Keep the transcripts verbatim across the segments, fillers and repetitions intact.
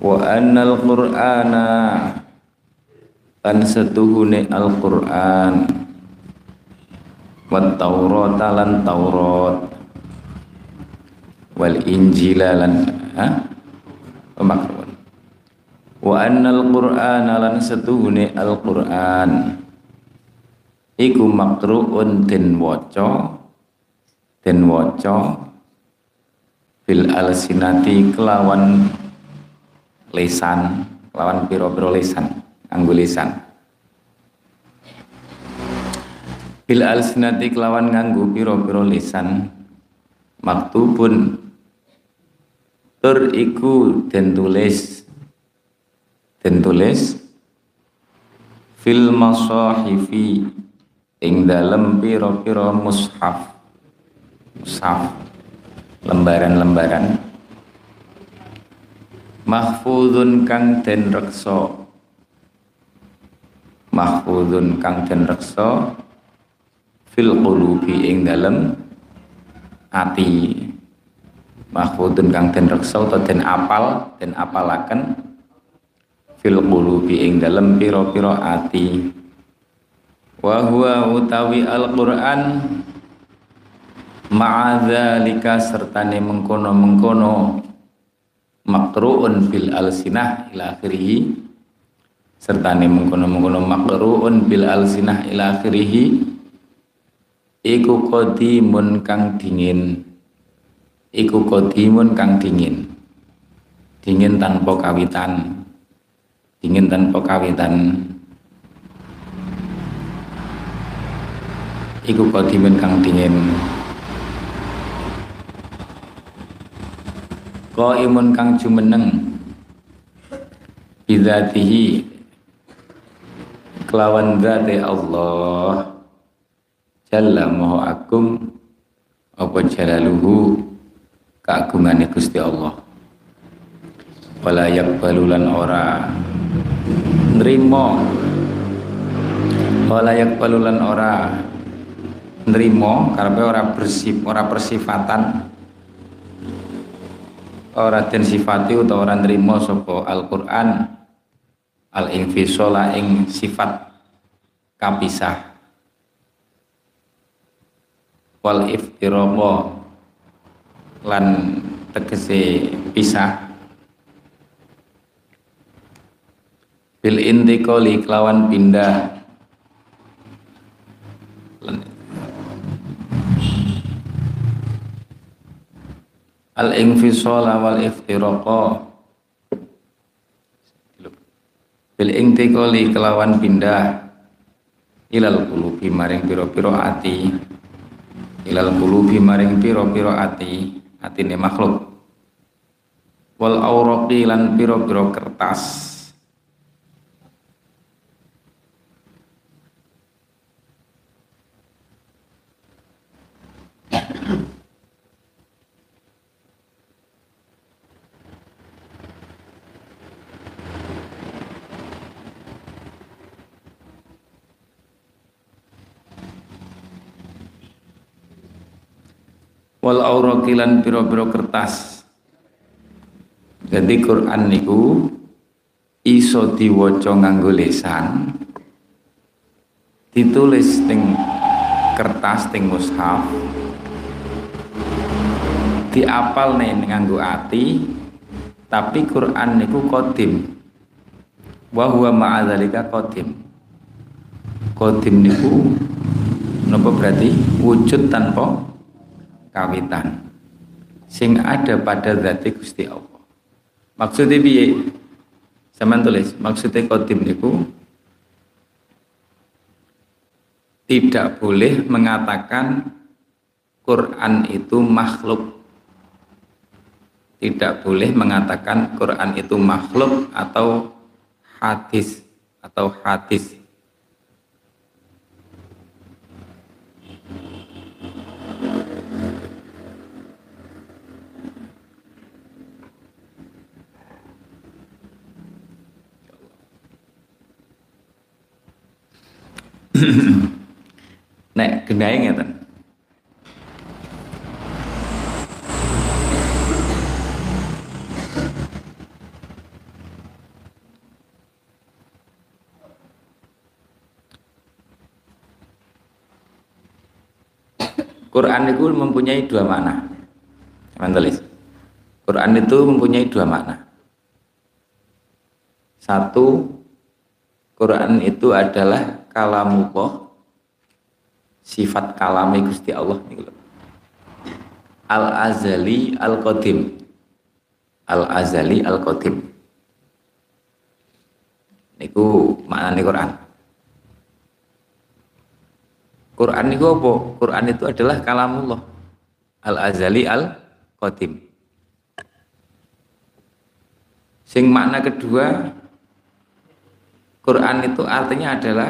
Wa annal qur'ana lan setuhune Al-Qur'an wat Taurata lan Taurat wal Injila lan ha pemakruan. Wa annal qur'ana lan setuhune Al-Qur'an iku makruun den waca den waca bil alsinati kelawan lisan, kelawan pira-pira lisan, nganggo lisan. Bil alsinati kelawan nganggo pira-pira lisan maktubun tur iku den tulis den tulis fil masahifi ing dalem pira-pira mushaf mushaf lembaran-lembaran mahfuzun kang den reksa mahfuzun kang den reksa fil qulubi ing dalem ati mahfuzun kang den reksa atau den apal den apalaken fil qulubi ing dalem pira-pira ati wa huwa utawi Al-Qur'an ma'adzalika sertane mengkono-mengkono makruun bil alsinah ila akhirih sertane mengkono-mengkono makruun bil alsinah ila akhirih iku qadimun kang dingin iku qadimun kang dingin dingin tanpa kawitan dingin tanpa kawitan iku qadimun kang dingin qaimun kang jumeneng bidzatihi kelawan zate Allah jalla maha agung apa jalaluhu keagungane Gusti Allah wala yaqbalulan ora nrimo wala yaqbalulan ora nrimo karepe ora bersif ora persifatan ora den sifati utawa ora nrimo sapa Al-Qur'an al-infisola ing sifat kapisah wal iftiraqa lan tegese pisah bil intiqali kelawan pindah al-infisala wal iftiraqa bil intiqali kelawan pindah ilal qulubi maring pira-pira ati ilal qulubi maring pira-pira ati atine makhluk wal awraqi lan pira-pira kertas wal auraqilan pira-pira kertas. Jadi Quran niku iso diwaca nganggo lisan, ditulis ting kertas ting mushaf, diapal nih nganggo ati, tapi Quran niku qadim. Wa huwa ma'adzalika qadim. Qadim niku napa berarti wujud tanpa kawitan sing ada pada zati Gusti Allah. Maksudnya piye? Sampeyan tulis, maksudnya qadim niku tidak boleh mengatakan Quran itu makhluk. Tidak boleh mengatakan Quran itu makhluk atau hadis atau hadis. Nek gendhae ngeten. Quran itu mempunyai dua makna. Teman tulis. Quran itu mempunyai dua makna. Satu, Quran itu adalah kalamullah, sifat kalami Gusti Allah. Al-azali al-qadim. Al-azali al-qadim. Niku maknane Quran. Quran itu apa? Quran itu adalah kalamullah al-azali al-qadim. Sing makna kedua, Quran itu artinya adalah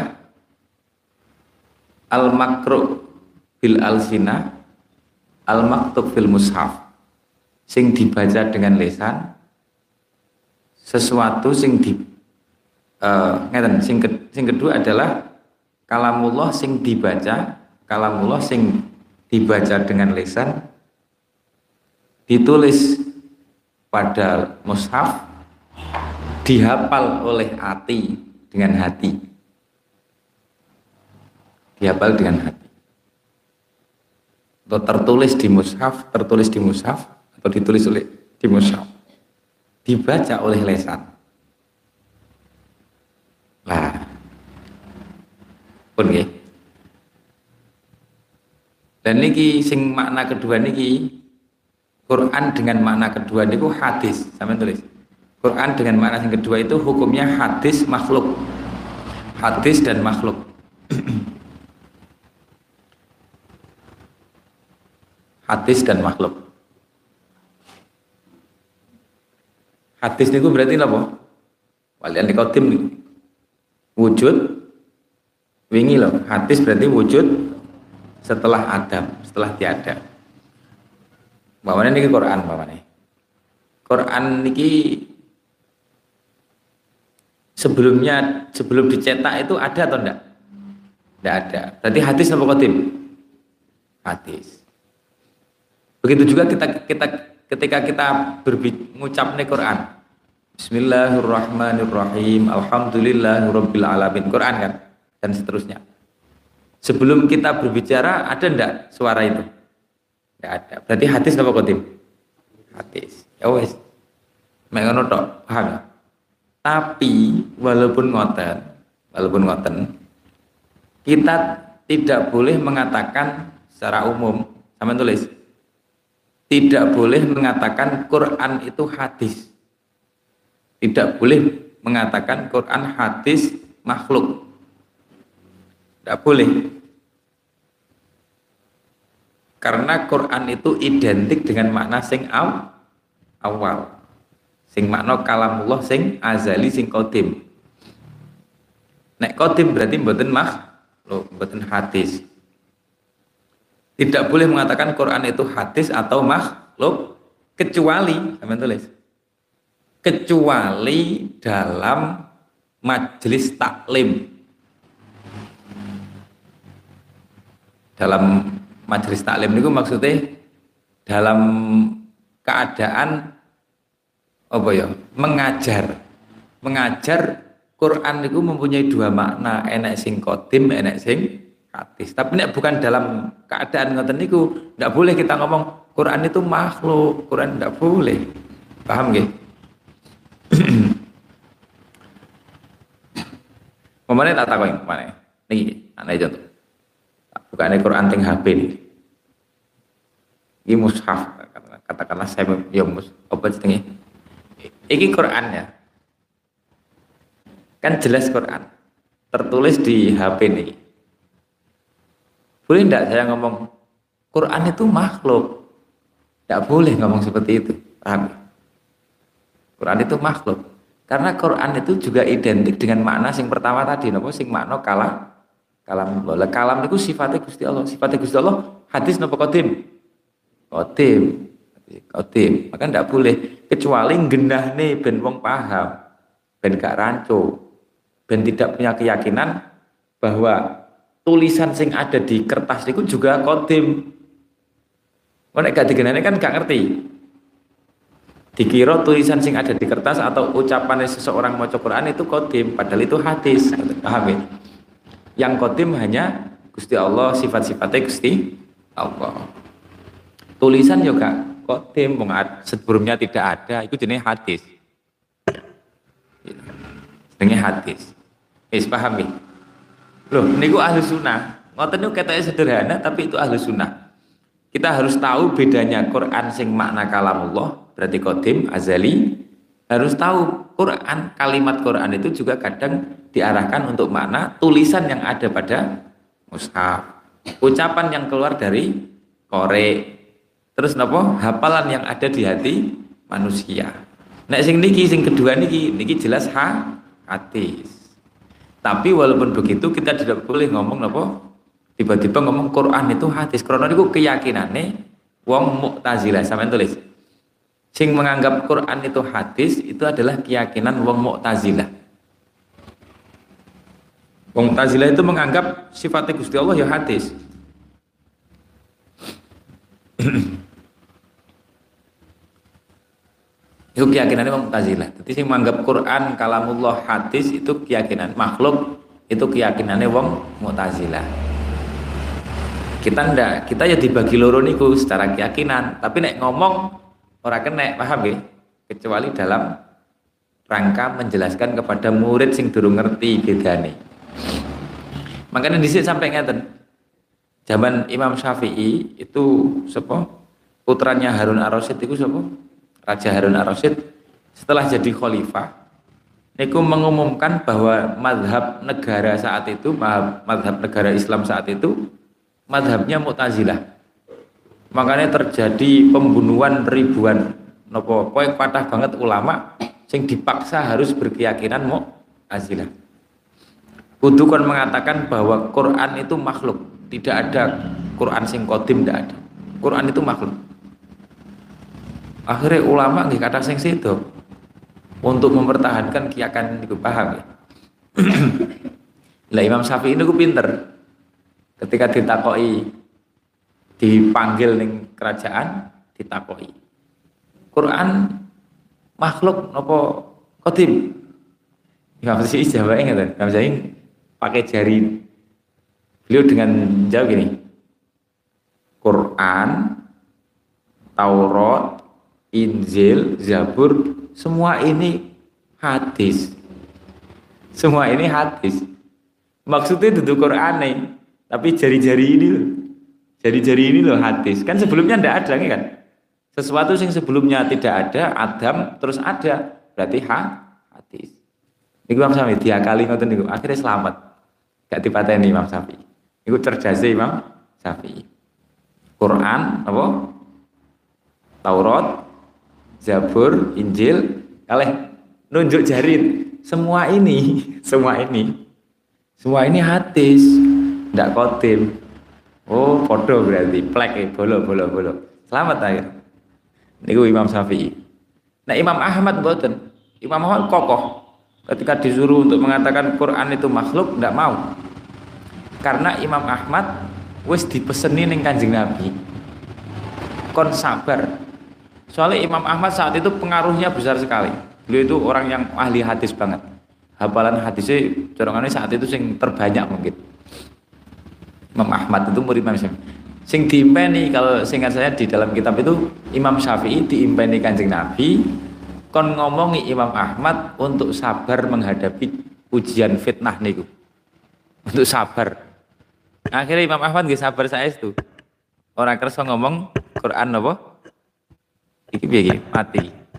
al-makru bil al-sina, al-maktub fil mushaf. Sing dibaca dengan lisan, sesuatu sing di uh, ngeten, sing, ke, sing kedua adalah kalamullah sing dibaca, kalamullah sing dibaca dengan lisan, ditulis pada mushaf, dihafal oleh hati dengan hati, dihafal dengan hati, atau tertulis di mushaf, tertulis di mushaf, atau ditulis oleh di mushaf, dibaca oleh lisan. Lah, pun nggih. Dan niki sing makna kedua niki, Quran dengan makna kedua niku hadis, sampeyan tulis. Quran dengan makna yang kedua itu hukumnya hadis makhluk. Hadis dan makhluk. Hadis dan makhluk. Hadis niku berarti apa? Walian dikotim niku. Wujud wingi loh. Hadis berarti wujud setelah Adam, setelah tiada. Bapaknya niki Quran, bapaknya. Quran niki sebelumnya, sebelum dicetak itu ada atau enggak? Enggak ada. Berarti hadis apa qadim? Hadis. Begitu juga kita kita ketika kita mengucap Quran. Bismillahirrahmanirrahim. Alhamdulillahirabbil alamin. Quran kan? Dan seterusnya. Sebelum kita berbicara ada enggak suara itu? Enggak ada. Berarti hadis apa qadim? Hadis. Ya wes. Mek ngono tok, paham ya? Tapi walaupun ngoten, walaupun ngoten, kita tidak boleh mengatakan secara umum, sama tulis, tidak boleh mengatakan Quran itu hadis, tidak boleh mengatakan Quran hadis makhluk, tidak boleh, karena Quran itu identik dengan makna sing aw, awal. Sing makna kalamullah sing azali sing qadim. Nek qadim berarti mboten makhluk, mboten hadis. Tidak boleh mengatakan Quran itu hadis atau makhluk kecuali, sampeyan tulis. Kecuali dalam majelis taklim. Dalam majelis taklim niku maksudnya dalam keadaan apa ya, mengajar mengajar Quran itu mempunyai dua makna, enek sing qadim, enek sing hadis. Tapi nek bukan dalam keadaan ngoten niku, ndak boleh kita ngomong Quran itu makhluk, Quran ndak boleh. Paham nggih? Pemane tak takoni pemane. Niki ana contoh. Bukane Quran teng H P niki. Iki mushaf, katakanlah saya ya mus apa jenenge? Iki Quran ya, kan jelas Quran, tertulis di H P nih. Boleh enggak saya ngomong Quran itu makhluk? Enggak boleh ngomong seperti itu, paham? Quran itu makhluk, karena Quran itu juga identik dengan makna sing pertama tadi, napa sing makna kalam, kalam Allah. Kalam itu sifatnya Gusti Allah, sifatnya Gusti Allah. Hadis napa qadim? Qadim. Qadim, maka ndak boleh kecuali genahne ben wong paham, ben gak rancu, ben tidak punya keyakinan bahwa tulisan sing ada di kertas itu juga qadim. Nek gak digenahne kan gak ngerti. Dikira tulisan sing ada di kertas atau ucapan seseorang maca Quran itu qadim, padahal itu hadis. Paham ya? Yang qadim hanya Gusti Allah, sifat-sifatnya Gusti Allah. Tulisan juga qadim wong sebelumnya tidak ada, itu jenis hadis. Jenenge hadis. Wis paham ya? Loh, niku ahli sunnah. Ngoten niku ketoke sederhana tapi itu ahli sunnah. Kita harus tahu bedanya Quran sing makna kalamullah, berarti qadim, azali. Harus tahu Quran, kalimat Quran itu juga kadang diarahkan untuk makna tulisan yang ada pada mushaf. Ucapan yang keluar dari korek. Terus napa? Hafalan yang ada di hati manusia. Nek sing niki sing kedua niki niki jelas ha hadis. Tapi walaupun begitu kita tidak boleh ngomong napa tiba-tiba ngomong Quran itu hadis. Karena niku keyakinane wong Mu'tazilah sampean tulis. Sing menganggap Quran itu hadis itu adalah keyakinan wong Mu'tazilah. Wong Mu'tazilah itu menganggap sifatnya Gusti Allah ya hadis. Itu keyakinannya wong Mu'tazilah. Jadi sing menganggap Quran kalamullah hadis itu keyakinan makhluk, itu keyakinannya wong Mu'tazilah. Kita ndak, kita ya dibagi loro niku secara keyakinan, tapi nek ngomong ora kena, paham ya? Kecuali dalam rangka menjelaskan kepada murid sing durung ngerti bedane. Makanya dhisik sampai ngeten. Zaman Imam Syafi'i itu sapa? Putranya Harun Ar-Rasyid itu sapa? Raja Harun Ar-Rasyid setelah jadi khalifah niku mengumumkan bahwa mazhab negara saat itu, mazhab negara Islam saat itu mazhabnya Mu'tazilah. Makanya terjadi pembunuhan ribuan nopo poin patah banget ulama sing dipaksa harus berkeyakinan Mu'tazilah. Kudu kon mengatakan bahwa Quran itu makhluk, tidak ada Quran sing qadim, tidak ada. Quran itu makhluk. Akhirnya ulama nggih kata sing sedo untuk mempertahankan keyakinan itu, paham ya? Lah Imam Syafi'i niku pinter. Ketika ditakoki, dipanggil ning kerajaan, ditakoki. Quran makhluk napa qadim? Imam Syafi'i jawabnya ngeten. Imam Syafi'i pakai jari. Beliau dengan jawab gini. Quran, Taurat, Injil, Zabur, semua ini hadis. Semua ini hadis. Maksudnya itu Quran nih, tapi jari-jari ini loh. Jari-jari ini loh hadis. Kan sebelumnya tidak ada kan? Sesuatu yang sebelumnya tidak ada, Adam terus ada, berarti ha, hadis. Niku Imam Syafi'i diakali ngoten niku, akhirnya selamat. Gak dipateni Imam Syafi'i. Niku cerdasnya Imam Syafi'i. Quran, apa? Taurat, Zabur, Injil, kalih nunjuk jari. Semua ini, semua ini, semua ini hadis, ndak qadim. Oh, podo berarti plek e, bolo bolo bolo. Selamat akhir. Niku Imam Syafi'i. Nah, Imam Ahmad mboten. Imam Ahmad kokoh. Ketika disuruh untuk mengatakan Quran itu makhluk, ndak mau. Karena Imam Ahmad wis dipeseni ning Kanjeng Nabi. Kon sabar. Soalnya Imam Ahmad saat itu pengaruhnya besar sekali. Beliau itu orang yang ahli hadis banget. Hafalan hadisnya dorongannya saat itu sing terbanyak mungkin. Imam Ahmad itu murid Imam Syafi'i. Sing diimpeni, kalau seingat saya di dalam kitab itu Imam Syafi'i diimpeni Kanjeng Nabi kon ngomongi Imam Ahmad untuk sabar menghadapi ujian fitnah niku. Untuk sabar. Akhirnya Imam Ahmad nggih sabar saestu. Orang kersa ngomong Quran apa? Iki piye iki? Mati.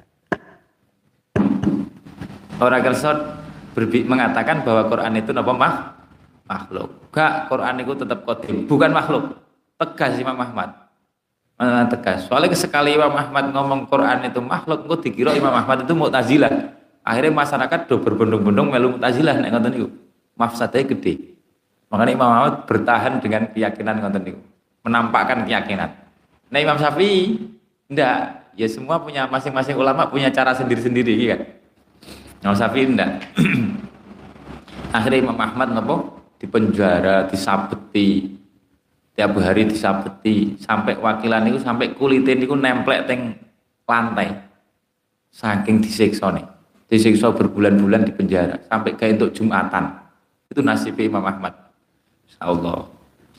Orang kersa mengatakan bahwa Quran itu napa mah? Makhluk. Gak, Quran itu tetap qadim, bukan makhluk. Tegas Imam Ahmad. Mana tegas. Soalnya sekali Imam Ahmad ngomong Quran itu makhluk, engko dikira Imam Ahmad itu Mu'tazilah. Akhirnya masyarakat do berbondong-bondong melu Mu'tazilah nek ngoten niku. Mafsadate gede. Makanya Imam Ahmad bertahan dengan keyakinan ngoten niku. Menampakkan keyakinan. Nah Imam Syafi'i ndak, ya semua punya masing-masing ulama punya cara sendiri-sendiri kan. Imam Syafi'i ndak. Akhirnya Imam Ahmad napa dipenjara, disabeti. Tiap hari disabeti sampai wakilan itu sampai kulitnya itu nemplek teng lantai. Saking disiksa nih. Disiksa berbulan-bulan di penjara sampai kayak untuk Jumatan. Itu nasib Imam Ahmad. Insyaallah.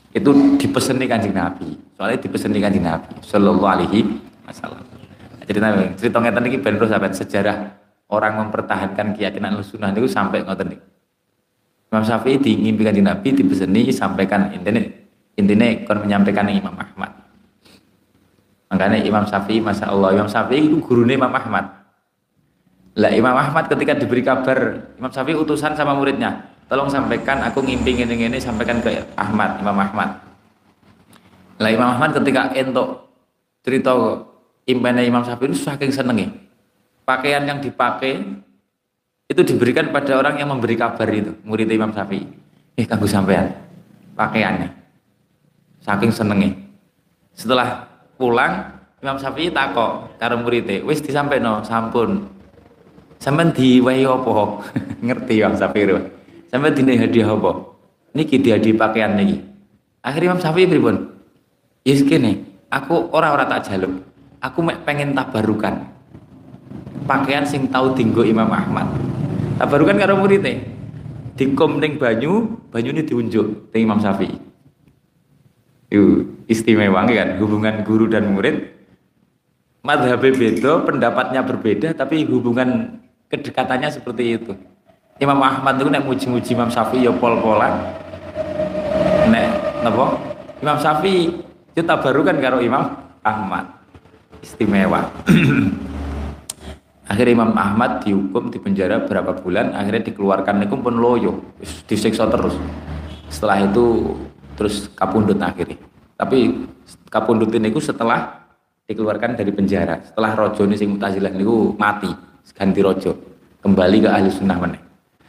Itu dipeseni Kanjeng Nabi. Soalnya dipeseni Kanjeng Nabi sallallahu alaihi wasallam. Cerita cerita ngeten iki ben terus sampai sejarah orang mempertahankan keyakinan Ahlussunnah niku sampai ngoten niku. Imam Syafi'i diimpi Kanjeng Nabi dipeseni sampaikan intine intine kon menyampaikan Imam Ahmad. Makanya Imam Syafi'i Masya Allah Imam Syafi'i itu gurunya Imam Ahmad. Lah Imam Ahmad ketika diberi kabar Imam Syafi'i utusan sama muridnya, tolong sampaikan aku ngimpi ngene-ngene sampaikan ke Ahmad, Imam Ahmad. Lah Imam Ahmad ketika entuk cerita impene Imam Syafi'i itu saking senenge. Pakaian yang dipakai itu diberikan pada orang yang memberi kabar itu, murid Imam Syafi'i. Eh kanggo sampean pakaiannya. Saking senenge. Setelah pulang Imam Syafi'i takok karo muridé, wis disampaikan sampun. Sampeyan diwahi apa? Ngerti Imam Syafi'i. Sampeyan dine hadiah apa? Niki dihadiah pakaian niki. Akhirnya Imam Syafi'i pripun? Yes kene, aku ora-ora tak jaluk. Aku mek pengen tabarukan. Pakaian sing tau dinggo Imam Ahmad. Tabarukan karo muridé. Dikom ning banyu, banyune diunjuk ning Imam Syafi'i. Itu istimewa kan hubungan guru dan murid. Madhabnya beda, pendapatnya berbeda, tapi hubungan kedekatannya seperti itu. Imam Ahmad itu nek muji-muji Imam Syafi'i ya pol-polan. Nek napa? Imam Syafi'i itu tabarukan karo Imam Ahmad. Istimewa. Akhirnya Imam Ahmad dihukum di penjara berapa bulan, akhirnya dikeluarkan niku pun loyo, disiksa terus. Setelah itu terus kapundhut akhirnya. Tapi kapundhut niku setelah dikeluarkan dari penjara. Setelah rojo ini sing Mu'tazilah niku mati, ganti rojo, kembali ke Ahlussunnah meneh.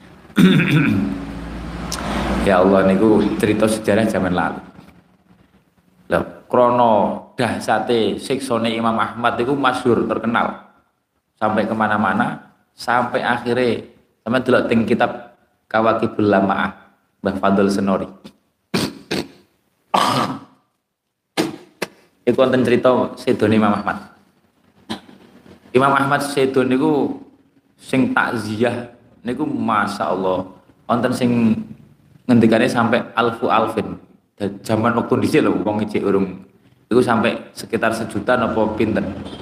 Ya Allah niku cerita sejarah zaman lalu. Lah krono dahsate siksane Imam Ahmad niku masyhur terkenal. Sampai kemana-mana, sampai akhirnya sampai delok teng kitab Kawakibul Lamaah Mbah Fadl Senori. Iku wonten cerita sedone Imam Ahmad. Imam Ahmad sedo niku sing takziah niku masyaallah wonten sing ngendikane sampai alfu alfin. Zaman waktu dhisik lho wong ijek urung iku sampai sekitar sejuta napa pinten.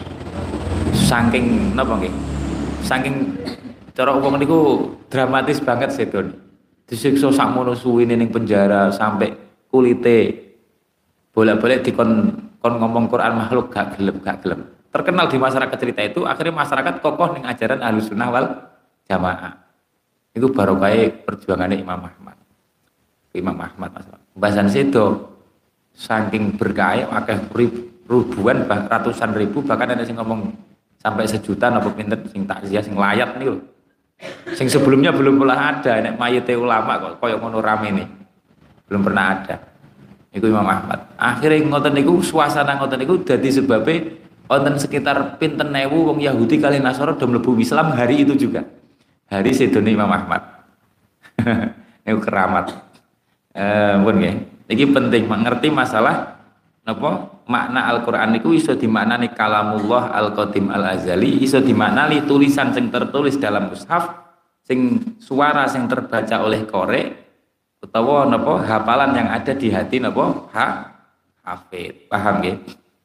Saking napa nggih? Saking cara wong niku dramatis banget sedone. Disiksa sakmono suwine ning penjara sampai kulite bolak-balik dikon kon ngomong Quran makhluk gak gelem gak gelem. Terkenal di masyarakat cerita itu, akhirnya masyarakat kokoh ning ajaran Ahlussunnah wal Jamaah. Itu barokah perjuangannya Imam Ahmad. Imam Ahmad masalah. Bahasan sedo saking berkah akeh ribuan ratusan ribu bahkan ada sing ngomong sampai sejuta napa pinten sing takziah sing layat niku. Sing sebelumnya belum pernah ada nek mayite ulama kok koyo ngono rame nih. Belum pernah ada. Iku Imam Ahmad. Akhirnya ngoten niku suasana ngoten niku dadi sebabe wonten sekitar pinten ewu wong Yahudi kali Nasara do mlebu Islam hari itu juga. Hari sedone Imam Ahmad. Niku keramat. Eh pun nggih. Iki penting mengerti masalah napa makna Al-Qur'an niku iso dimaknani kalamullah al-qadim al-azali, iso dimaknani tulisan sing tertulis dalam mushaf, sing suara sing terbaca oleh korek utawa napa hafalan yang ada di hati napa ha hafid. Paham nggih?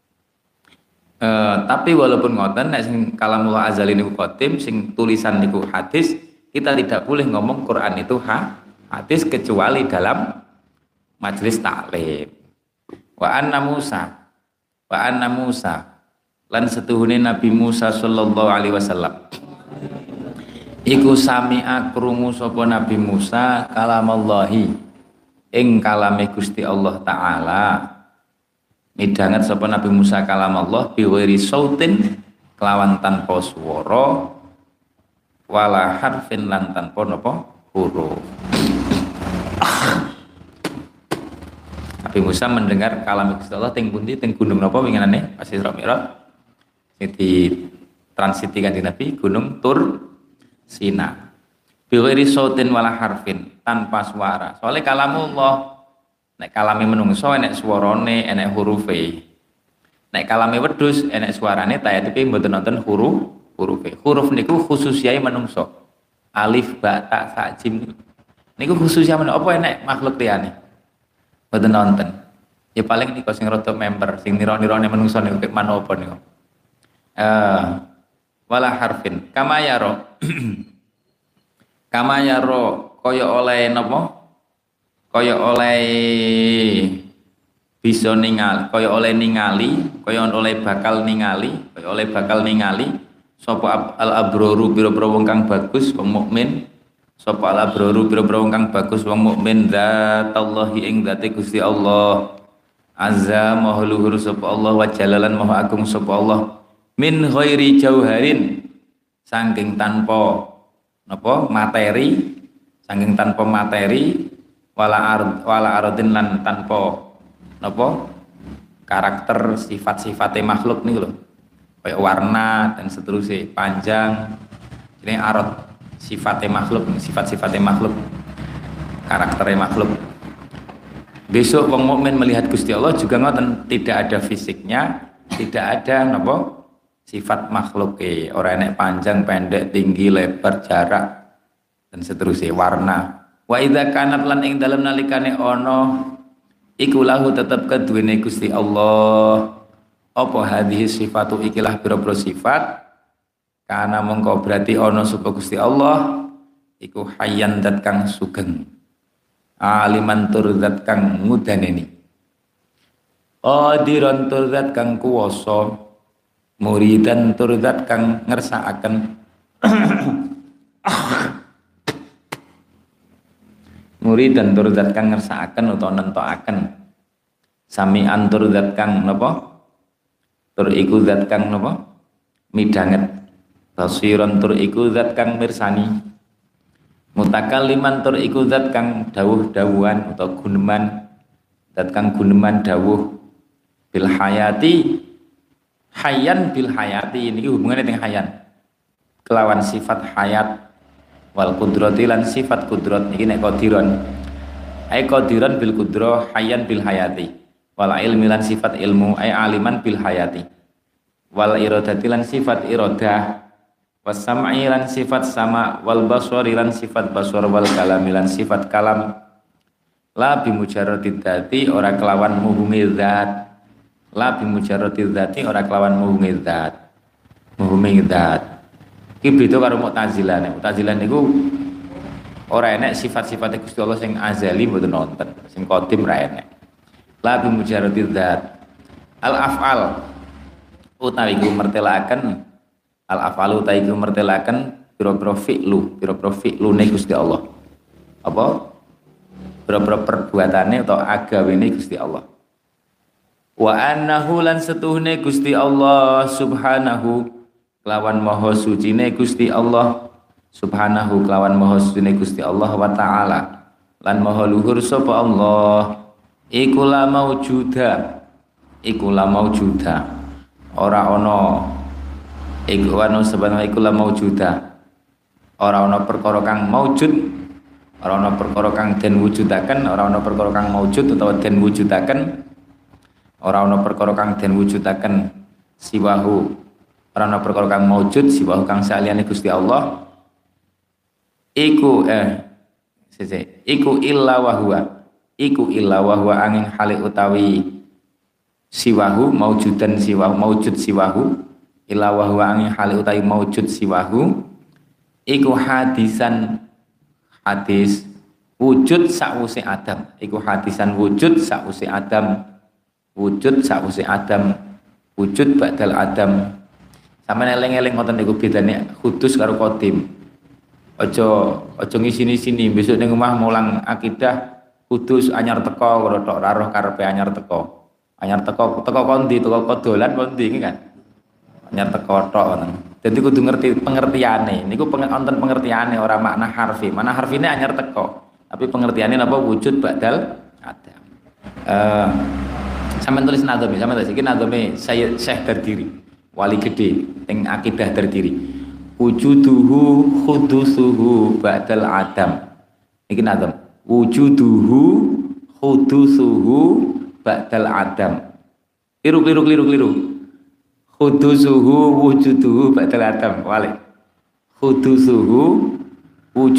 E, tapi walaupun ngoten nek sing kalamullah azali niku qadim, sing tulisan niku hadis, kita tidak boleh ngomong Quran itu ha hadis kecuali dalam majelis taklim. Wa anna Musa wa anna Musa lan setuhune Nabi Musa sallallahu alaihi wasallam iku sami'a krungu sapa Nabi Musa kalamallahi ing kalame Gusti Allah taala. Midhanget sapa Nabi Musa kalamallah bi ghairi sautin kelawan tanpa swara wala harfin lan tanpa napa huruf. Nabi Musa mendengar kalam Gusti Allah teng pundi teng gunung napa winginane pas Isra Mi'raj sing ditransiti kanjeng Nabi gunung Tur Sina. Bi ghairi sautin wala harfin tanpa suara. Soale kalamullah nek kalame menungso enek swarane, enek hurufe. Nek kalame wedhus enek suarane tapi mboten nonton huruf hurufe. Huruf niku khususiyai menungso. Alif, ba, ta, sa, jim niku khususiyai menungso. Apa enek makhluk liyane? Mboten nonton. Ya paling niku sing rada member, sing nira-nirane menungso niku kek manopo niku. Eh wala harfin kama yaro. Kama yaro kaya oleh napa? Kaya oleh bisa ningali, kaya oleh ningali, kaya oleh bakal ningali, kaya oleh bakal ningali sapa al abroru pira-pira wong kang bagus wong mukmin, sapa al abroru pira-pira wong kang bagus wong mukmin zatallahi ing zate Gusti Allah azza maha luhur sapa Allah wa jalalan maha agung sapa Allah min ghairi jauharin saking tanpa napa materi, saking tanpa materi wala ard wala ardin lan tanpa napa karakter sifat-sifatnya makhluk nih loh kayak warna dan seterusnya panjang ini arad sifatnya makhluk sifat-sifatnya makhluk karakternya makhluk. Besok wong mukmin melihat Gusti Allah juga ngoten tidak ada fisiknya tidak ada napa sifat makhluk eh orang enek panjang pendek tinggi lebar jarak dan seterusnya warna wa idza kanat lan ing dalem nalikane ana iku lahu tetep keduwene Gusti Allah apa hadhihi sifatu ikilah pira-pira sifat kana mongko berarti ana sapa Gusti Allah iku hayyan dat kang sugeng aliman tur zat kang ngudaneni qadiran tur zat kang kuwasa muridan tur zat kang ngersakaken murid dan tur zat kang ngersakaken utawa nentokaken sami'an tur zat kang napa tur iku zat kang napa midhanget basiran tur iku zat kang mirsani mutakalliman tur iku zat kang dawuh-dawuhan utawa guneman zat kang guneman dawuh bil hayati hayyan bil hayati ini hubungannya dengan hayyan kelawan sifat hayat wal kudrati lan sifat kudrat iki nek qadiran ai qadiran bil kudra hayyan bil hayati wal ilmi lan sifat ilmu ai aliman bil hayati wal iradati lan sifat iradah was sam'i lan sifat sama wal basari lan sifat basar wal kalami lan sifat kalam la bi mujarradid dzati ora kelawan muhumi zat la bi mujarradid dzati ora kelawan muhumi zat muhumi zat iki beda karo Mu'tazilah. Mu'tazilah niku ora enek sifat-sifate Gusti Allah sing azali mboten nonton, sing qadim ra enek. La bi mujarradid dzat. Al af'al utawi iku mertelaken al af'alu utawi iku mertelaken pira-pira fi'lu, pira-pira fi'lune Gusti Allah. Apa? Pira-pira perbuatane utawa agawene Gusti Allah. Wa annahu lan setuhne Gusti Allah subhanahu kelawan maha sucine Gusti Allah subhanahu kelawan maha sucine Gusti Allah wa ta'ala lan maha luhur sapa Allah iku la maujuda iku la maujuda ora ana iku ana sebenarnya iku la maujuda ora ana perkara kang maujud ora ana perkara kang den wujudaken ora ana perkara kang maujud utawa den wujudaken ora ana perkara kang den wujudaken siwahu ora ana perkara kang maujud siwa kang saliyane Gusti Allah iku eh sese iku illa wa huwa iku illa wa huwa angin hale utawi siwahu maujudan siwahu maujud siwahu illa wa huwa angin hale utawi maujud siwahu iku hadisan hadis wujud sakwuse Adam iku hadisan wujud sakwuse Adam wujud sakwuse Adam wujud ba'dal Adam. Sampe eling-eling ngoten niku bedane kudus karo qadim. Aja aja ngisini-sini besok ning omah mulang akidah kudus anyar teko karo tok ra roh karepe anyar teko. Anyar teko teko kondi teko kodolan kondi iki kan. Anyar teko tok ngoten. Dadi kudu ngerti pengertiane. Niku wonten pengertiane ora makna harfi. Mana harfine anyar teko. Tapi pengertiane napa wujud badal ada. Eh sampeyan tulis nadome, sampeyan tulis iki nadome saya Syekh Berdiri. Wali gede yang akidah terdiri wujuduhu khudusuhu ba'dal adam ini nadam wujuduhu khudusuhu ba'dal adam liru liru liru liru khudusuhu wujuduhu ba'dal adam wali khudusuhu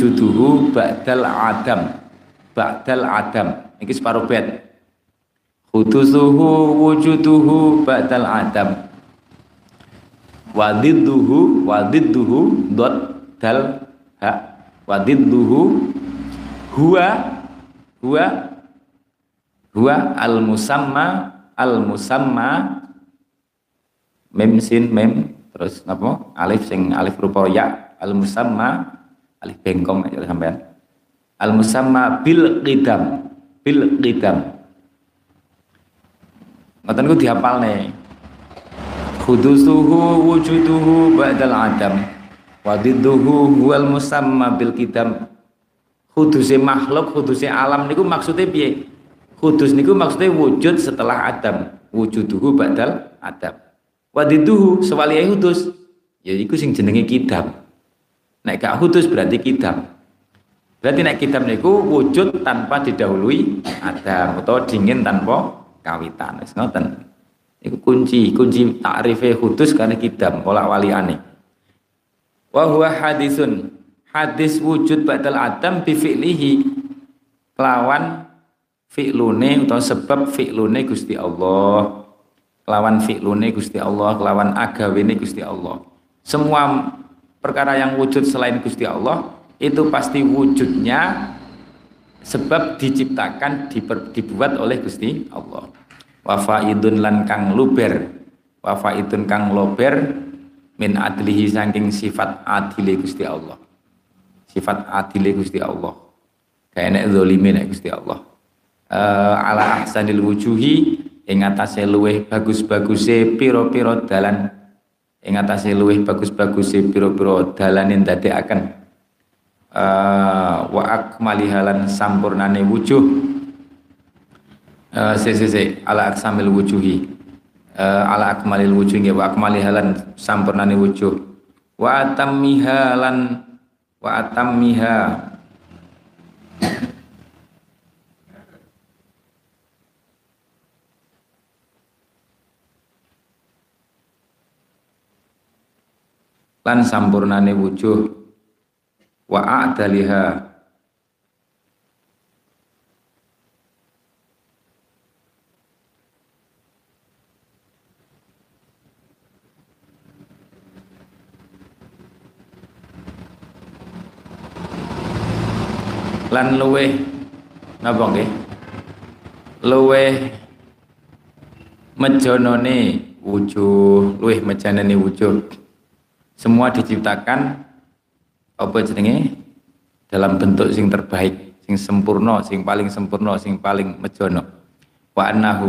wujuduhu ba'dal adam ba'dal adam ini separuh bed Hudusuhu wujuduhu ba'dal adam. Wadidduhu wadidduhu dot dal ha wadidduhu huwa huwa huwa al musamma al musamma mem sin mem terus napa alif sing alif rupa ya al musamma alif bengkong aja sampean al musamma bil qidam bil qidam ngoten ku dihafalne hudusuhu wujuduhu ba'dal adam wadidduhu huwal musamma bil qidam. Huduse makhluk huduse alam niku maksudnya piye? Hudus niku maksudnya wujud setelah adam, wujuduhu ba'dal adam. Wadiduhu sewalihe hudus ya iku sing jenenge kidam. Nek gak hudus berarti kidam. Berarti nek kidam niku wujud tanpa didahului adam atau dingin tanpa kawitan. Wis ngoten. Iku kunci, kunci takrife hudus karena kidam pola waliane. Wa huwa hadisun. Hadis wujud ba'dal adam bi fi'lihi lawan fi'lune utawa sebab fi'lune Gusti Allah. Lawan fi'lune Gusti Allah, lawan agawene Gusti Allah. Semua perkara yang wujud selain Gusti Allah itu pasti wujudnya sebab diciptakan diper, dibuat oleh Gusti Allah. Wa faidun lan kang luber, wa faidun kang lober min adlihi saking sifat adile Gusti Allah. Sifat adile Gusti Allah. Kayak nek zalime nek Gusti Allah. Uh, ala ahsanil wujuhi ing atase luweh bagus-baguse pira-pira dalan ing atase luweh bagus-baguse pira-pira dalan yen dadekaken uh, wa akmalihalan sampurnane wujuh uh, se se se ala aksamil wujuhi uh, ala akmalil wujuh nggih wa akmalihalan sampurnane wujuh wa atammihalan wa atammiha lan sampurnane wujuh wa a'daliha lan luweh napa nggih luweh mejonone wujuh luweh mejanane wujuh. Semua diciptakan apa jenenge dalam bentuk sing terbaik, sing sempurna, sing paling sempurna, sing paling mejono. Wa annahu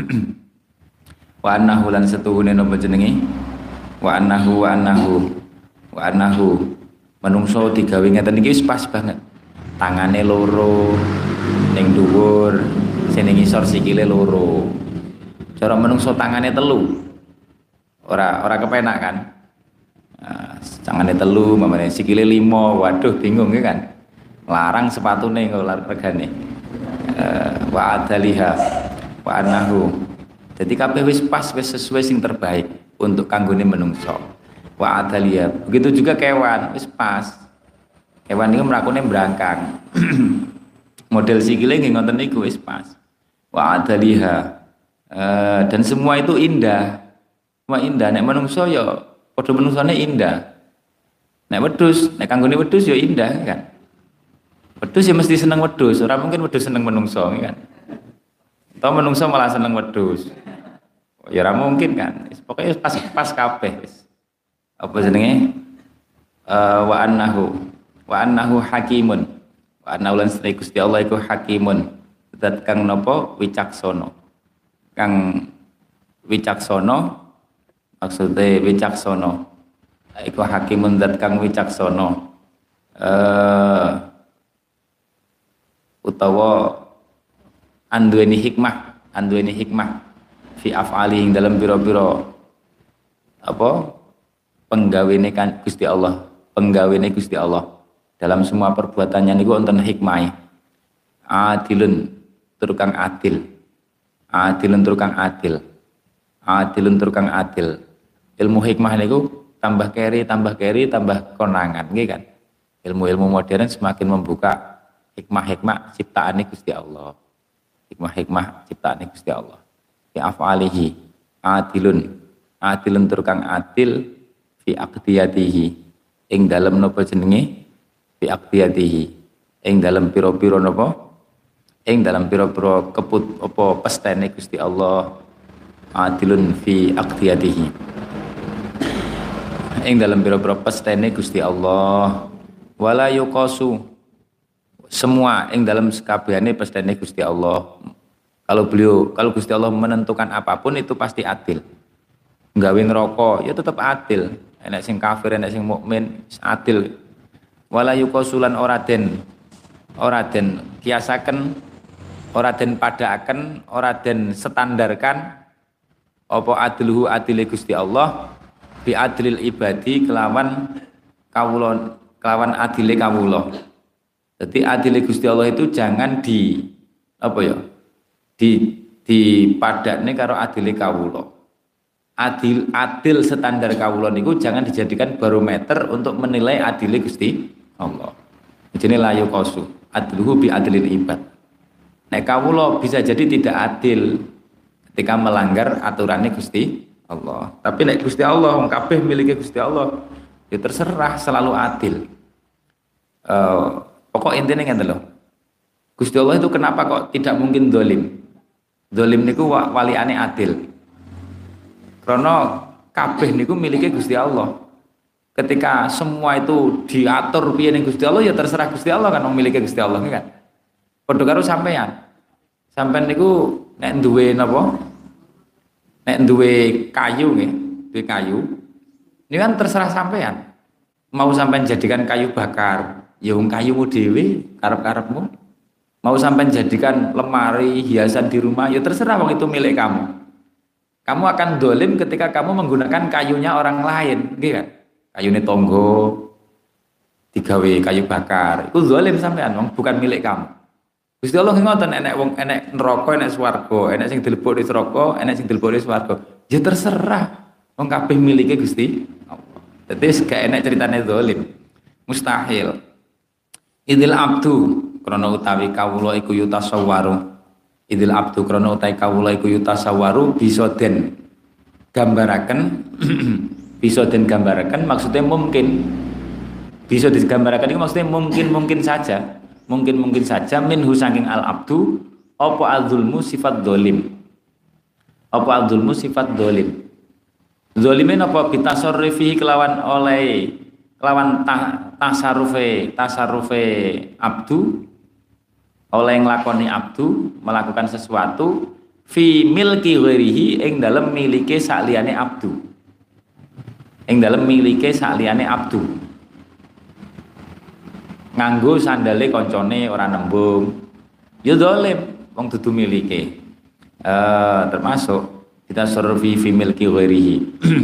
wa annahu lan setuhune napa jenenge? Wa annahu wa annahu wa annahu menungso digawe ngeten iki wis pas banget. Tangane loro ning dhuwur, sing ning ngisor sikile loro. Cara menungso tangane telu. Ora ora kepenak kan? Nah, tangannya telu, mamane sikile limo, waduh bingung ya kan, larang sepatune kok regane. Uh, wa adaliha wa anahu. Jadi kabeh wis pas, wis sesuai sing terbaik untuk kanggone menungso. Wa adaliha. Begitu juga kewan, wis pas. Kewan niku mlakune brangkang. Model sikile nggih ngoten niku wis pas. Wa adaliha. Uh, dan semua itu indah. Semua indah nek menungso ya padha menungsane indah. Nek wedhus, nek kanggone wedhus ya indah kan. Wedhus ya mesti seneng wedhus, ora mungkin wedhus seneng menungso kan. Atau menungso malah seneng wedhus. Ya ora mungkin kan. Pokoke pas pas kabeh wis. Apa jenenge? Uh, wa annahu wa annahu hakimun. Wa annahu lan sedaya Gusti Allah iku hakimun. Zat kang napa wicaksana. Kang wicaksana maksudnya wicaksana iku hakimun zat kang wicaksana uh, utawa anduweni hikmah anduweni hikmah fi af'ali ing dalam biro-biro apa penggawene kan Gusti Allah penggawene Gusti Allah dalam semua perbuatannya niku wonten hikmah adilun tur kang adil adilun tur kang adil adilun tur kang adil ilmu hikmah niku tambah keri, tambah keri, tambah konangan, nggih kan? Ilmu-ilmu modern semakin membuka hikmah-hikmah ciptaane Gusti Allah. hikmah-hikmah ciptaane Gusti Allah. Fi af'alihi adilun. Adilun tur kang adil fi aqdiyatihi. Ing dalem napa jenenge? Fi aqdiyatihi. Ing dalem pira-pira napa? Ing dalem pira-pira keput apa pestene Gusti Allah. Adilun fi aqdiyatihi. Ing dalem pira-pira pestene Gusti Allah. Wala yuqasu semua ing dalam sekabehane pestene Gusti Allah. Kalau beliau, kalau Gusti Allah menentukan apapun itu pasti adil. Nggawe neraka ya tetap adil. Enek sing kafir, enek sing mukmin, adil. Wala yuqasulan ora den ora den kiasaken, ora den padaaken, ora den standarkan apa adluhu adile Gusti Allah bi adlil ibadi kelawan kawula kelawan adile kawula. Jadi adile Gusti Allah itu jangan di apa ya? Di dipadakne karo adile kawula. Adil adil standar kawula niku jangan dijadikan barometer untuk menilai adile Gusti Allah. Jenenge la yuqasu adluhu bi adlil ibad. Nek kawula bisa jadi tidak adil ketika melanggar aturannya Gusti Allah. Tapi nek Gusti Allah wong kabeh miliki Gusti Allah, ya terserah selalu adil. Uh, pokok intinya ngene lho. Gusti Allah itu kenapa kok tidak mungkin dolim? Dolim niku waliane adil. Karena kabeh niku miliki Gusti Allah. Ketika semua itu diatur piye ning Gusti Allah ya terserah Gusti Allah kan wong miliki Gusti Allah kan. Padha karo sampean. Sampean niku nek duwe napa? Nek duwe kayu nggih, duwe kayu. Ini kan terserah sampean. Mau sampean jadikan kayu bakar, ya wong kayumu dhewe, karep-karepmu. Mau sampean jadikan lemari, hiasan di rumah, ya terserah wong itu milik kamu. Kamu akan dolim ketika kamu menggunakan kayunya orang lain, gitu kan? Kayune tonggo, digawe kayu bakar, itu dolim sampean, wong bukan milik kamu. Gusti Allah ngoten enek wong enek neraka, enek swarga, enek sing dilebok di neraka, enek sing dilebok di swarga. Ya terserah, wong kabeh milike Gusti Allah. Dadi gak enek ceritane dolim. Mustahil. Idil abdu krana utawi kawula iku yutasawwaru. Idil abdu krana utawi kawula iku yutasawwaru bisa den gambaraken bisa den gambaraken maksudnya mungkin bisa digambaraken itu maksudnya mungkin-mungkin saja. Mungkin-mungkin saja minhu saking al abdu apa adzulmu sifat dolim. Apa adzulmu sifat dolim. Zolimin apa bitasarrufi kelawan oleh kelawan ta, tasarufe tasarufe abdu oleh nglakoni abdu melakukan sesuatu fi milki ghairihi ing dalem milike sakliyane abdu ing dalem milike sakliyane abdu nganggo sandale koncone ora nembung ya dolim wong dudu milike uh, termasuk kita surfi fi milki ghairihi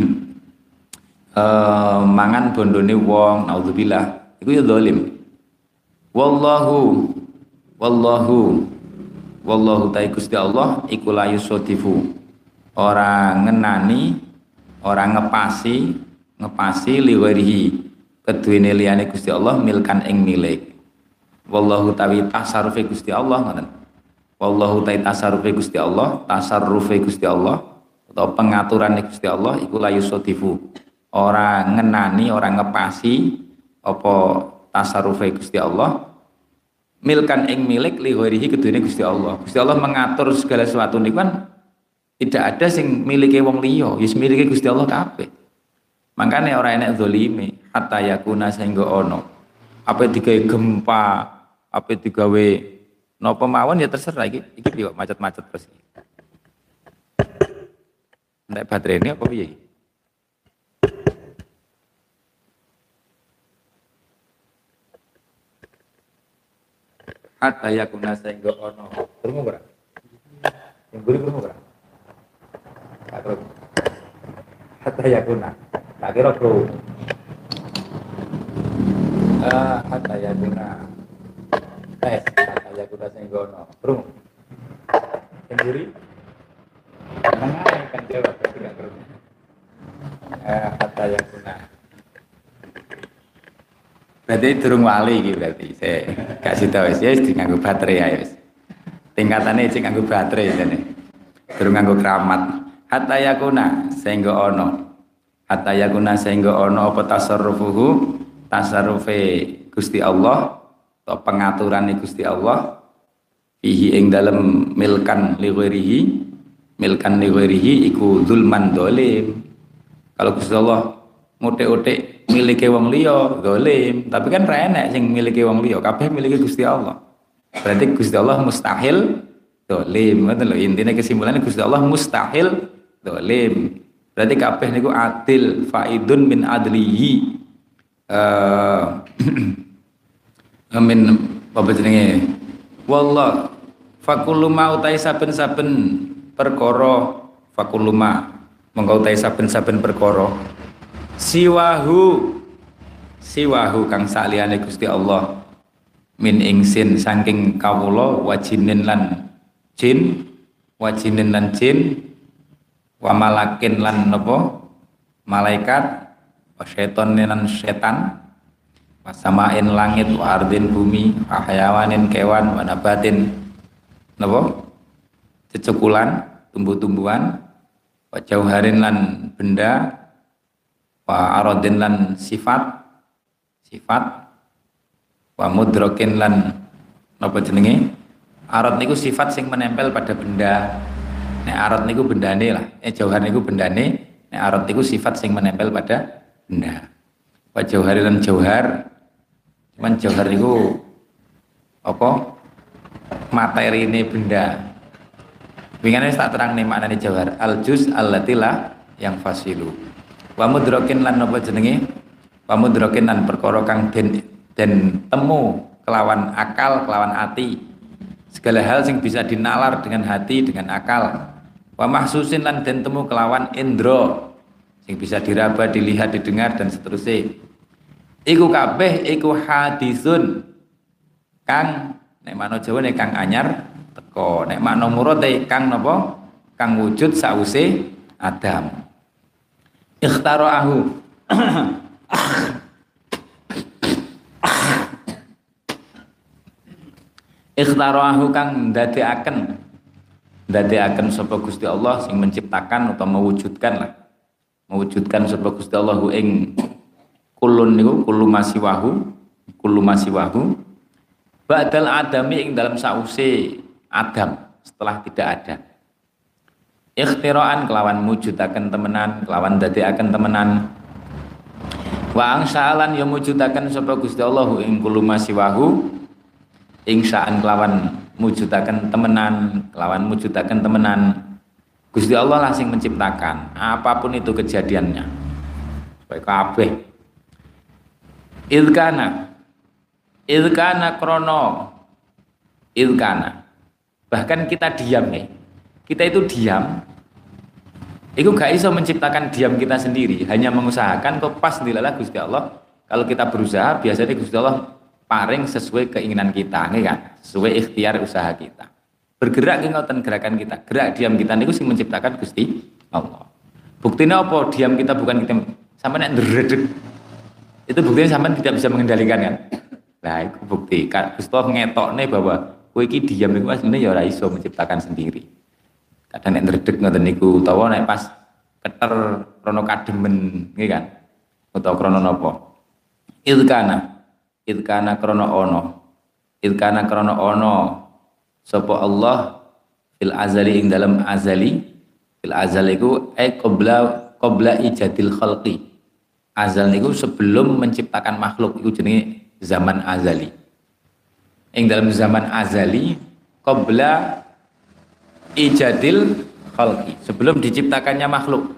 uh, mangan bondone wong naudzubillah iku ya zalim wallahu wallahu wallahu ta Gusti Allah iku la yusadifu ora ngenani ora ngepasi ngepasi li ghairihi keduwene liyane Gusti Allah milkan ing milik wallahu tawi tasarrufe Gusti Allah ngoten wallahu ta'i tasarrufe Gusti Allah tasarrufe Gusti Allah atau pengaturan Gusti Allah iku la yusadifu ora ngenani ora ngepasi apa tasarrufe Gusti Allah milkan ing milik li ghairihi kedune Gusti Allah. Gusti Allah mengatur segala sesuatu niku kan tidak ada sing milike wong liya wis milike Gusti Allah kabeh. Makane ora enek zalime hatta yakuna sehingga ono apa digawe gempa apa digawe napa mawon ya terserah iki iki piye kok macet-macet terus. Nek baterai ini apa piye? Hatta yakuna sehingga ono. Krungu ora? Yang buri krungu ora? Tak krungu. Hatta yakuna. Tak kira krungu. Ah, hatta yakuna. Eh, hatta yakuna sehingga ono. Krungu. Yang buri? Mengenai kan jawab tapi gak kerja. Eh, kata yang guna. Berarti durung wali iki berarti. Saya kasih tahu ya, wis nganggo baterai ya wis. tingkatane cek nganggo baterai jane. Durung nganggo keramat. Hatta yakuna sehingga ono. Hatta yakuna sehingga ono apa tasarrufuhu tasarrufe Gusti Allah atau pengaturan Gusti Allah fihi ing dalem milkan li ghairihi milkan li ghairihi iku zulman dolim. Kalau Gusti Allah mutik-utik miliki wong liya dolim, tapi kan ra enek sing miliki wong liya, kabeh miliki Gusti Allah. Berarti Gusti Allah mustahil dolim. Ngoten lho intine kesimpulannya Gusti Allah mustahil dolim. Berarti kabeh niku adil faidun min adlihi. Eh amin apa jenenge? Wallah fakullu ma utai saben-saben perkara fakullu ma mongko utai saben-saben perkara siwahu siwahu kang saliyane Gusti Allah min ingsin saking kawula wajinin lan jin wajinin lan jin wa malakin lan napa malaikat wa syaiton lan setan wa samain langit wa ardin bumi wa hayawanin kewan wa nabatin napa cecekulan tumbuh-tumbuhan wa jauharin lan benda wa aradin lan sifat sifat wa mudrokin lan napa jenenge arad niku sifat sing menempel pada benda. Nek arad niku bendane lah, eh jauhar niku bendane, nek arad niku sifat sing menempel pada benda. Wa jauhar lan jauhar. Cuman jauhar niku apa? Materine benda. Wingane tak terangne maknane jauhar. Al juz allatila yang fasilu. Wa mudrokin lan napa jenenge? Wa mudrokin lan perkara kang den den temu kelawan akal, kelawan hati. Segala hal sing bisa dinalar dengan hati, dengan akal. Wa mahsusin lan den temu kelawan indra sing bisa diraba, dilihat, didengar dan seterusnya. Iku kabeh iku hadisun kang nek makna Jawane kang anyar teko, nek makna murate kang napa? Kang wujud sause Adam. Ikhtarahu Ikhtarahu kang ndadekaken ndadekaken sapa Gusti Allah sing menciptakan atau mewujudkan lah. Mewujudkan sapa Gusti Allah ing kulun niku kullu masiwahu kullu masiwahu ba'dal adami ing dalam sause Adam setelah tidak ada. Ikhtiraan kelawan mujudaken temenan, kelawan ndadekaken temenan. Wa angsalan ya mujudaken sapa Gusti Allah ing kullu masiwahu insaan kelawan mujudaken temenan, kelawan mujudaken temenan. Gusti Allah lah sing menciptakan apapun itu kejadiannya. Supaya kabeh ilkana ilkana krono ilkana bahkan kita diam nih. Kita itu diam. Itu gak iso menciptakan diam kita sendiri, hanya mengusahakan kok pas dilalah Gusti Allah. Kalau kita berusaha biasanya Gusti Allah paring sesuai keinginan kita, nggih kan? Sesuai ikhtiar usaha kita. Bergerak ki ngoten gerakan kita. Gerak diam kita niku sing menciptakan Gusti Allah. Buktinya apa? Diam kita bukan kita sampai nek ndredeg. Itu buktinya sampean tidak bisa mengendalikan kan? Nah, itu bukti. Gusti Allah ngetokne bahwa kowe iki diam niku asline ya ora iso menciptakan sendiri. Kadang nek ndredeg ngoten niku utawa nek pas keter krana kademen, nggih kan? Utawa krana napa? Ilkana Ilkana krono ono, ilkana krono ono, sapa Allah fil azali ing dalam azali, fil azali ku eh qabla qabla ijadil khalqi. Azal niku sebelum menciptakan makhluk iku jenenge zaman azali. Ing dalam zaman azali qabla ijadil khalqi, sebelum diciptakannya makhluk.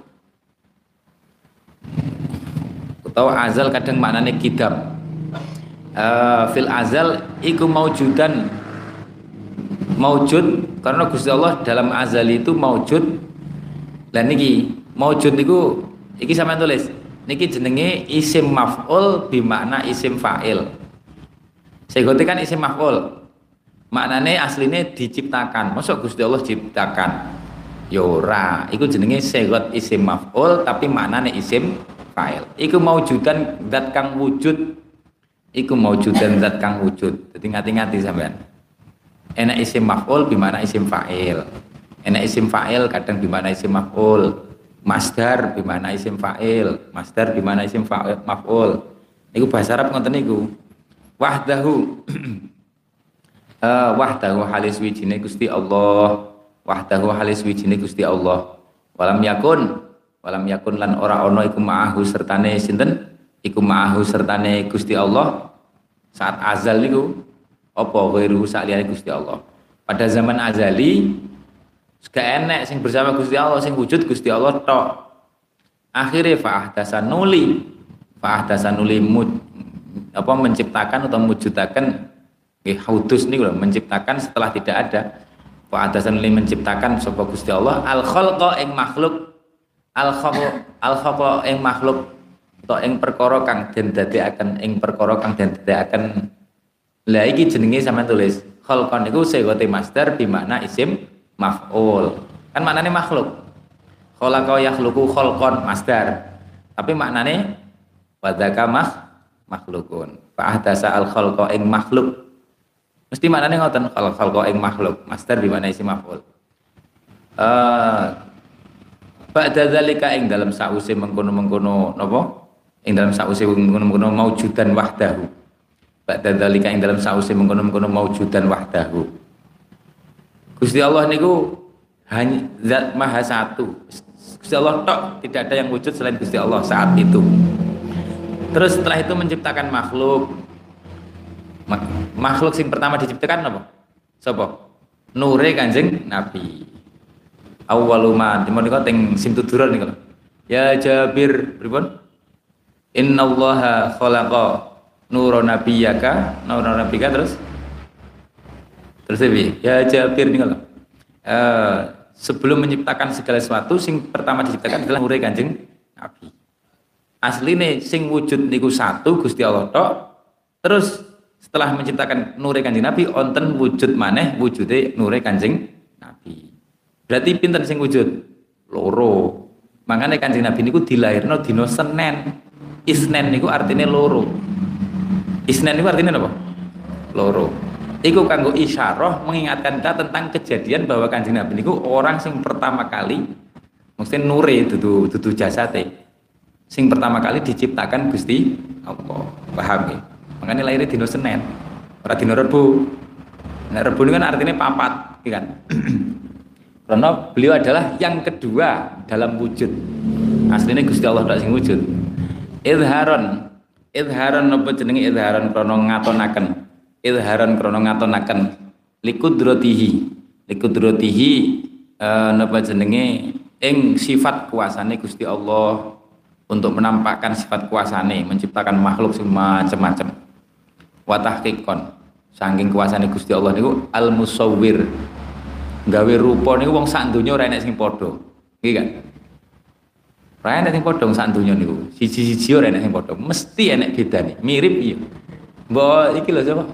Atau azal kadang maknane kidam. Uh, fil azal iku maujudan maujud karena Gusti Allah dalam azali itu maujud. Lah niki maujud niku iki sampean tulis niki jenenge isim maf'ul bi makna isim fa'il. Segote kan isim maf'ul maknane asline diciptakan. Mosok Gusti Allah ciptakan ya ora, iku jenenge segot isim maf'ul tapi maknane isim fa'il. Iku maujudan zat kang wujud. Iku maujudan zat kang wujud. Jadi ngati-ngati sampean. Enak isim maf'ul bimana isim fa'il. Enak isim fa'il kadang bimana isim maf'ul. Masdar bimana isim fa'il. Masdar bimana isim fa'il maf'ul. Niku bahasa Arab ngoten niku. Wahdahu uh, wahdahu halis wijine Gusti Allah. Wahdahu halis wijine Gusti Allah. Walam yakun walam yakun lan ora ana iku ma'ahu sertane sinten? Iku ma'ahu sertane Gusti Allah saat azal niku apa ghairu saliyane Gusti Allah. Pada zaman azali gak enek sing bersama Gusti Allah, sing wujud Gusti Allah tok. Akhire fa'ahdasan nuli fa'ahdasan nuli mud, apa menciptakan atau mewujudaken nggih haudus niku lho, menciptakan setelah tidak ada. Fa'ahdasan nuli menciptakan sapa Gusti Allah al khalqa ing makhluk al khalqa al khalqa ing makhluk atau ing perkara kang den dadekaken ing perkara kang den dadekaken. Lah iki jenenge sampean tulis khalqan niku segote masdar bi makna isim maf'ul. Kan maknane makhluk. Khalaqa yakhluqu khalqan masdar. Tapi maknane wadzaka mah makhlukun. Fa ahdasa al khalqa ing makhluk. Mesti maknane ngoten khalqa ing makhluk. Masdar bi makna isim maf'ul. Eh uh, ba'da zalika ing dalam sause mengkono-mengkono napa? Ing dalam sause mengkono-mengkono maujudan wahdahu. Ba'da dzalika ing dalam sause mengkono-mengkono maujudan wahdahu. Gusti Allah niku hanya zat maha satu. Gusti Allah tok, tidak ada yang wujud selain Gusti Allah saat itu. Terus setelah itu menciptakan makhluk. Makhluk sing pertama diciptakan apa? Sapa? Nure Kanjeng Nabi. Awwaluma dimono teng simtuduran niku. Ya Jabir pripun? Innallaha khalaqa nurun nabiyyaka, nurun nabiyaka terus terus lebih ya Jabir nih kalau uh, sebelum menciptakan segala sesuatu sing pertama diciptakan adalah nure Kanjeng Nabi. Asline sing wujud niku satu Gusti Allah tok. Terus setelah menciptakan nure Kanjeng Nabi onten wujud maneh wujude nure Kanjeng Nabi. Berarti pinten sing wujud? Loro. Makanya Kanjeng Nabi niku dilahirno dina Senin. Isnen niku artinya loro. Isnen itu artinya apa? Loro. Iku kanggo isyarah mengingatkan kita tentang kejadian bahwa Kanjeng Nabi niku orang sing pertama kali mesti nure dudu dudu jasate. Sing pertama kali diciptakan Gusti Allah. Paham ya? Makanya lahirnya dino Senin. Ora dino Rebo. Nah, Rebo ini kan artinya papat, kan? Karena beliau adalah yang kedua dalam wujud. Aslinya Gusti Allah tak sing wujud. Idharon idharon apa jenenge idharon krana ngatonaken idharon krana ngatonaken likudratihi likudratihi eh, napa jenenge ing sifat kuasane Gusti Allah untuk menampakkan sifat kuasane menciptakan makhluk sing macam-macam wa tahqiqon saking kuasane Gusti Allah niku al musawwir gawe rupa niku wong sak donya ora enek sing padha nggih kan. Ora enek sing padha sak donya niku. Siji-siji ora enek sing padha. Mesti enek bedane. Mirip iya. Mbok iki lho sapa?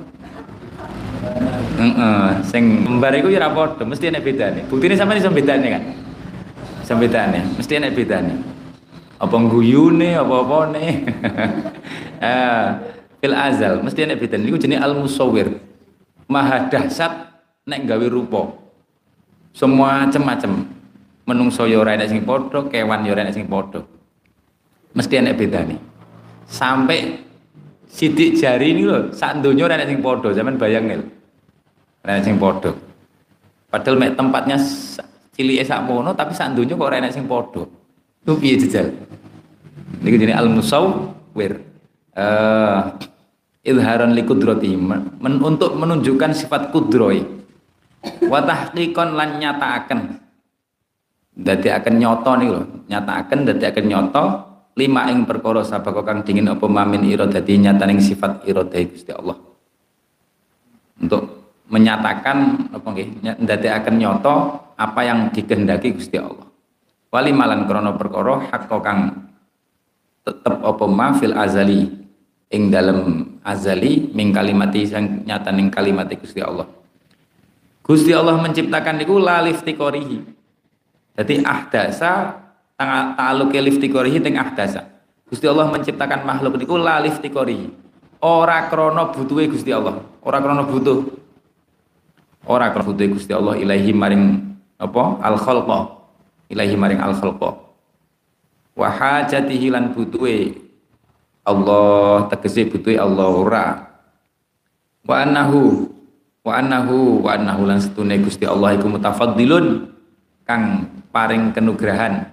Heeh, sing kembar iku ya ora padha, mesti enek bedane. Buktine sampeyan iso bedane kan? Iso bedane, mesti enek bedane. Apa guyune, apa-apane. Eh, fil azal mesti enek bedane. Niku jenenge al-musawwir. Maha dahsyat nek gawe rupa. Semua macam-macam. Menungso ya ora enek sing padha, kewan ya ora enek sing padha. Mesti enek bedane. Sampai sidik jari ini lho, sak donya ora enek sing padha, sampean bayangke lho. Ora enek sing padha. Padahal mek tempatnya cilike sakmono tapi sak donya kok ora enek sing padha. Ku piye jejal? Niku jenenge al-musawwir. Eh uh, idharan likudrati men, untuk menunjukkan sifat kudroi. Wa tahqiqan lan nyataaken dadi akan nyoto nih loh, nyatakan dadi akan nyoto lima ing perkara sabaka kang dingin apa mamin iradati nyataning sifat iradai Gusti Allah. Untuk menyatakan apa nggih, dadi akan nyoto apa yang dikehendaki Gusti Allah. Wali malan krana perkara hak kang tetep apa ma fil azali ing dalem azali ming kalimati sang nyataning kalimati Gusti Allah. Gusti Allah menciptakan niku la liftiqorihi. Jadi ahdasa ta'alluqe liftiqorihi teng ahdasa. Gusti Allah menciptakan makhluk niku la liftiqorihi. Ora krana butuhe Gusti Allah, ora krana butuh. ora kena butuhe Gusti Allah ilaihi maring apa al khalqa ilaihi maring al khalqa wa hajatihi lan butuhe Allah tegese butuhe Allah ora wa annahu wa annahu wa annahu lan setune Gusti Allah iku mutafaddilun kang paring kenugrahan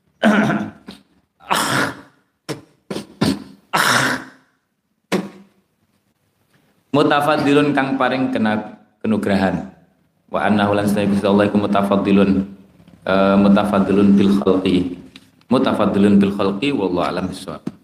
mutafaddilun kang paring kena kenugrahan wa annahu lan setune Gusti Allah iku mutafaddilun uh, mutafaddilun bil khalqi mutafaddilun bil khalqi wallahu alam bissawab.